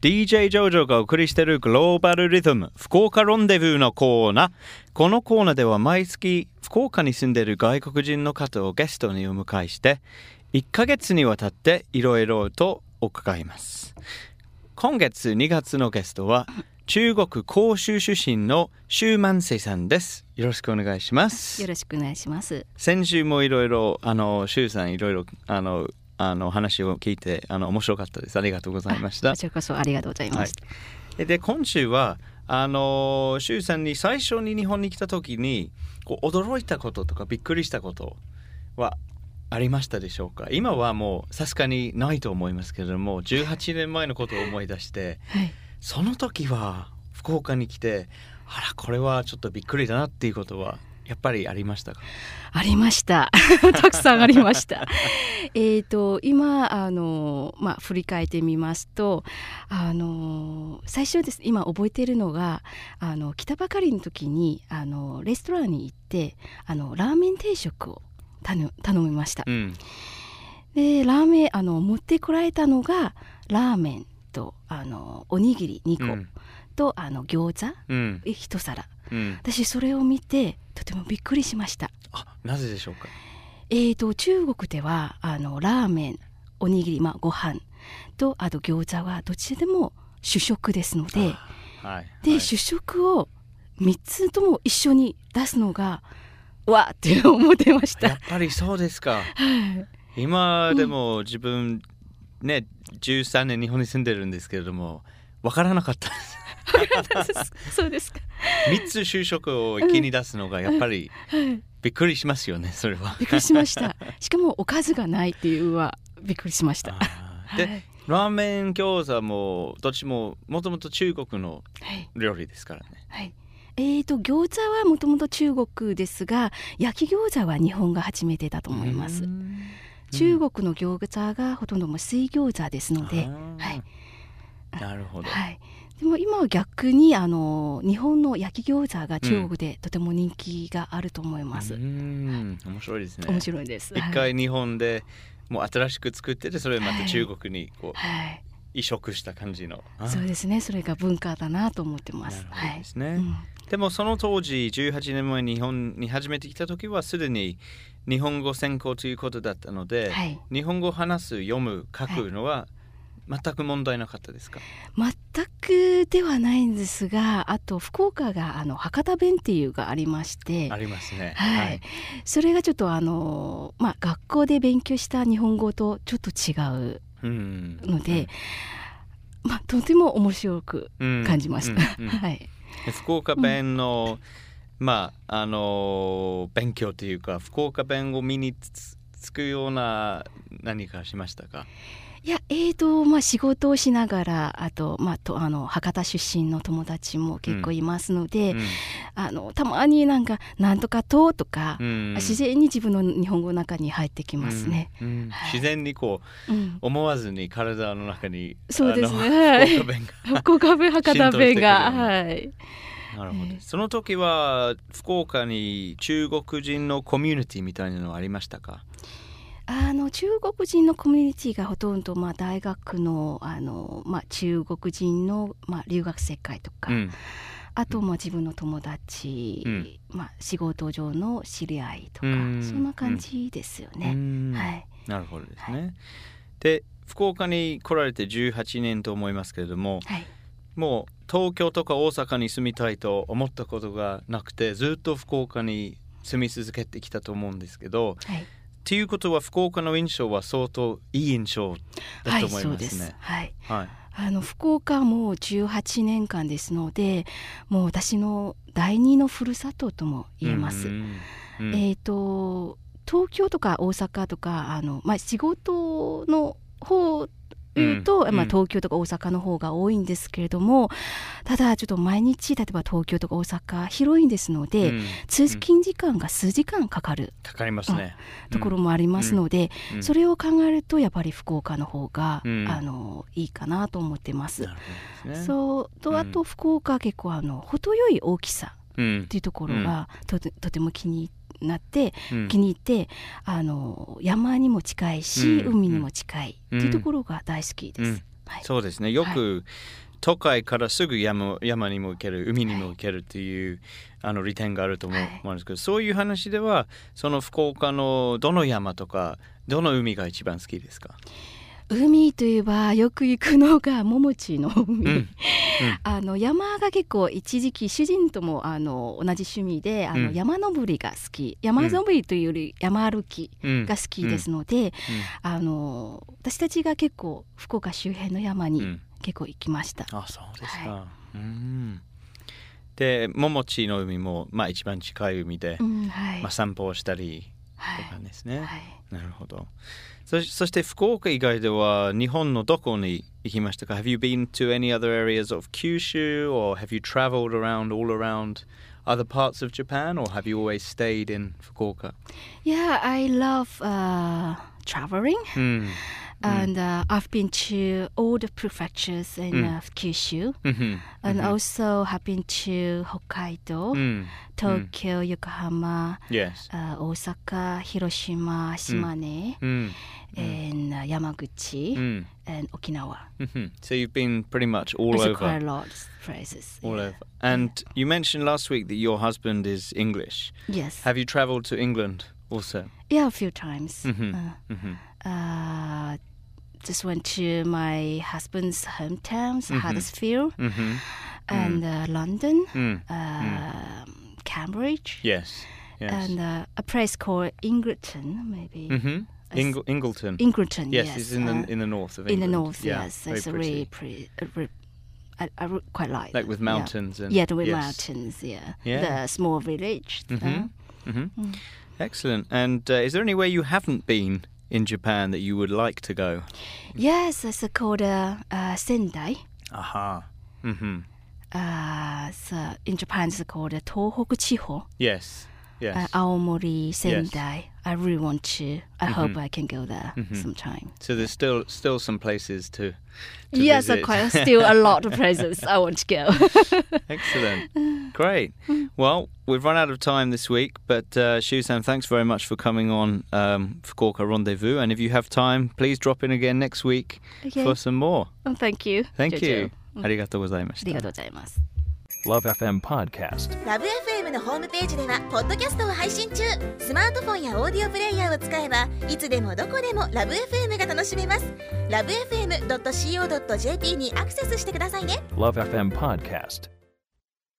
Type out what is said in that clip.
DJ ジョージョがお送りしているグローバルリズム福岡ロンデブーのコーナー。このコーナーでは毎月福岡に住んでいる外国人の方をゲストにお迎えして1ヶ月にわたっていろいろと伺います。今月2月のゲストは中国広州出身の周万世さんです。よろしくお願いします。 よろしくお願いします。 先週もいろいろ周さんいろいろ話を聞いて面白かったです。ありがとうございました。 こちらこそありがとうございます。 はい、で今週は周さんに最初に日本に来た時に驚いたこととかびっくりしたことはありましたでしょうか。今はもうさすがにないと思いますけれども18年前のことを思い出して、はい、その時は福岡に来てこれはちょっとびっくりだなっていうことはやっぱりありましたか。 ありましたたくさんありました今振り返ってみますと最初です。今覚えているのが来たばかりの時にレストランに行ってラーメン定食を頼みました、でラーメン持ってこられたのがラーメンとおにぎり2個、と餃子、1皿、私それを見てとてもびっくりしました。 なぜでしょうか。 中国ではラーメン、おにぎり、ご飯とあと餃子はどちらでも主食ですので、主食を3つとも一緒に出すのがわーって思ってました。 やっぱりそうですか。今でも自分ね13年日本に住んでるんですけれども分からなかったですそうですか。 3つ就職を一気に出すのがやっぱりびっくりしますよね。それはびっくりしましたしかもおかずがないっていうのはびっくりしました。 で、ラーメン餃子もどっちももともと中国の料理ですからね。 餃子はもともと中国ですが焼き餃子は日本が初めてだと思います。中国の餃子がほとんども水餃子ですので、 なるほど。 でも今は逆に日本の焼き餃子が中国でとても人気があると思います。 面白いですね。 面白いです。 一回日本でもう新しく作っててそれをまた中国に移植した感じの、 そうですね。それが文化だなと思ってます。 なるほどですね。でもその当時18年前に日本に初めて来た時はすでに日本語専攻ということだったので、日本語を話す、読む、書くのは全く問題なかったですか。 全くではないんですが、あと福岡が博多弁っていうがありまして、 ありますね。 それがちょっと学校で勉強した日本語とちょっと違うので、とても面白く感じました。 福岡弁の、勉強というか福岡弁を身につくような何かしましたか。 いや仕事をしながらあと、博多出身の友達も結構いますので、たまになんとかとか、自然に自分の日本語の中に入ってきますね。 自然に思わずに体の中にそうですね。福岡弁博多弁がなるほど。その時は福岡に中国人のコミュニティみたいなのはありましたか。 中国人のコミュニティがほとんど、大学の、中国人の、留学生会とか、あと自分の友達、仕事上の知り合いとか、そんな感じですよね。 なるほどですね。で福岡に来られて18年と思いますけれども、もう東京とか大阪に住みたいと思ったことがなくてずっと福岡に住み続けてきたと思うんですけど、ということは福岡の印象は相当いい印象だと思いますね。 福岡も18年間ですのでもう私の第二のふるさととも言えます。東京とか大阪とか仕事の方いうと、東京とか大阪の方が多いんですけれども、ただちょっと毎日例えば東京とか大阪広いんですので、通勤時間が数時間かかりますね、 ところもありますので、それを考えるとやっぱり福岡の方が、いいかなと思ってます。そうとあと福岡は結構程よい大きさっていうところが、とても気に入って山にも近いし、海にも近いっていうところが大好きです。 はい、 そうですね。よく、都会からすぐ山にも行ける、海にも行けるっていう利点があると思うんですけど、そういう話ではその福岡のどの山とかどの海が一番好きですか？ 海といえばよく行くのが桃地の海、山が結構一時期主人とも同じ趣味で山登りが好き、山登りというより山歩きが好きですので、私たちが結構福岡周辺の山に結構行きました。 あ、そうですか。で、桃地の海も、一番近い海で、散歩をしたりとかですね。なるほど。そして福岡以外では日本のどこに行きましたか？ Have you been to any other areas of Kyushu, or have you traveled around all around other parts of Japan, or have you always stayed in Fukuoka? Yeah, I love traveling. And I've been to all the prefectures in Kyushu, and also have been to Hokkaido, Tokyo, Yokohama, Osaka, Hiroshima, Shimane, and Yamaguchi, and Okinawa. So you've been pretty much all over. Quite a lot of places. All over. And you mentioned last week that your husband is English. Yes. Have you travelled to England also? Yeah, a few times. Just went to my husband's hometowns, Huddersfield, and London, Cambridge. Yes. And a place called Ingleton, maybe. Ingleton. Ingleton, yes. It's in the north of England. In the north, yes. It's really pretty. I quite like. Like with mountains and with mountains. The small village. Excellent. And is there anywhere you haven't been in Japan that you would like to go? Yes, it's called Sendai. Aha. So in Japan, it's called Tohoku Chiho. Yes. Aomori, Sendai. I really want to. I hope I can go there sometime. So there's still some places to yes, visit. Still a lot of places I want to go. Excellent. Great. Well, we've run out of time this week, but Shu-san, thanks very much for coming on Fukuoka Rendezvous. And if you have time, please drop in again next week for some more. Thank you. Thank you. ありがとうございました。 ありがとうございます。 Love FM Podcast。 ラブ FM のホームページではポッドキャストを配信中。スマートフォンやオーディオプレイヤーを使えばいつでもどこでもラブ FM が楽しめます。LoveFM.co.jp にアクセスしてくださいね。 Love FM Podcast。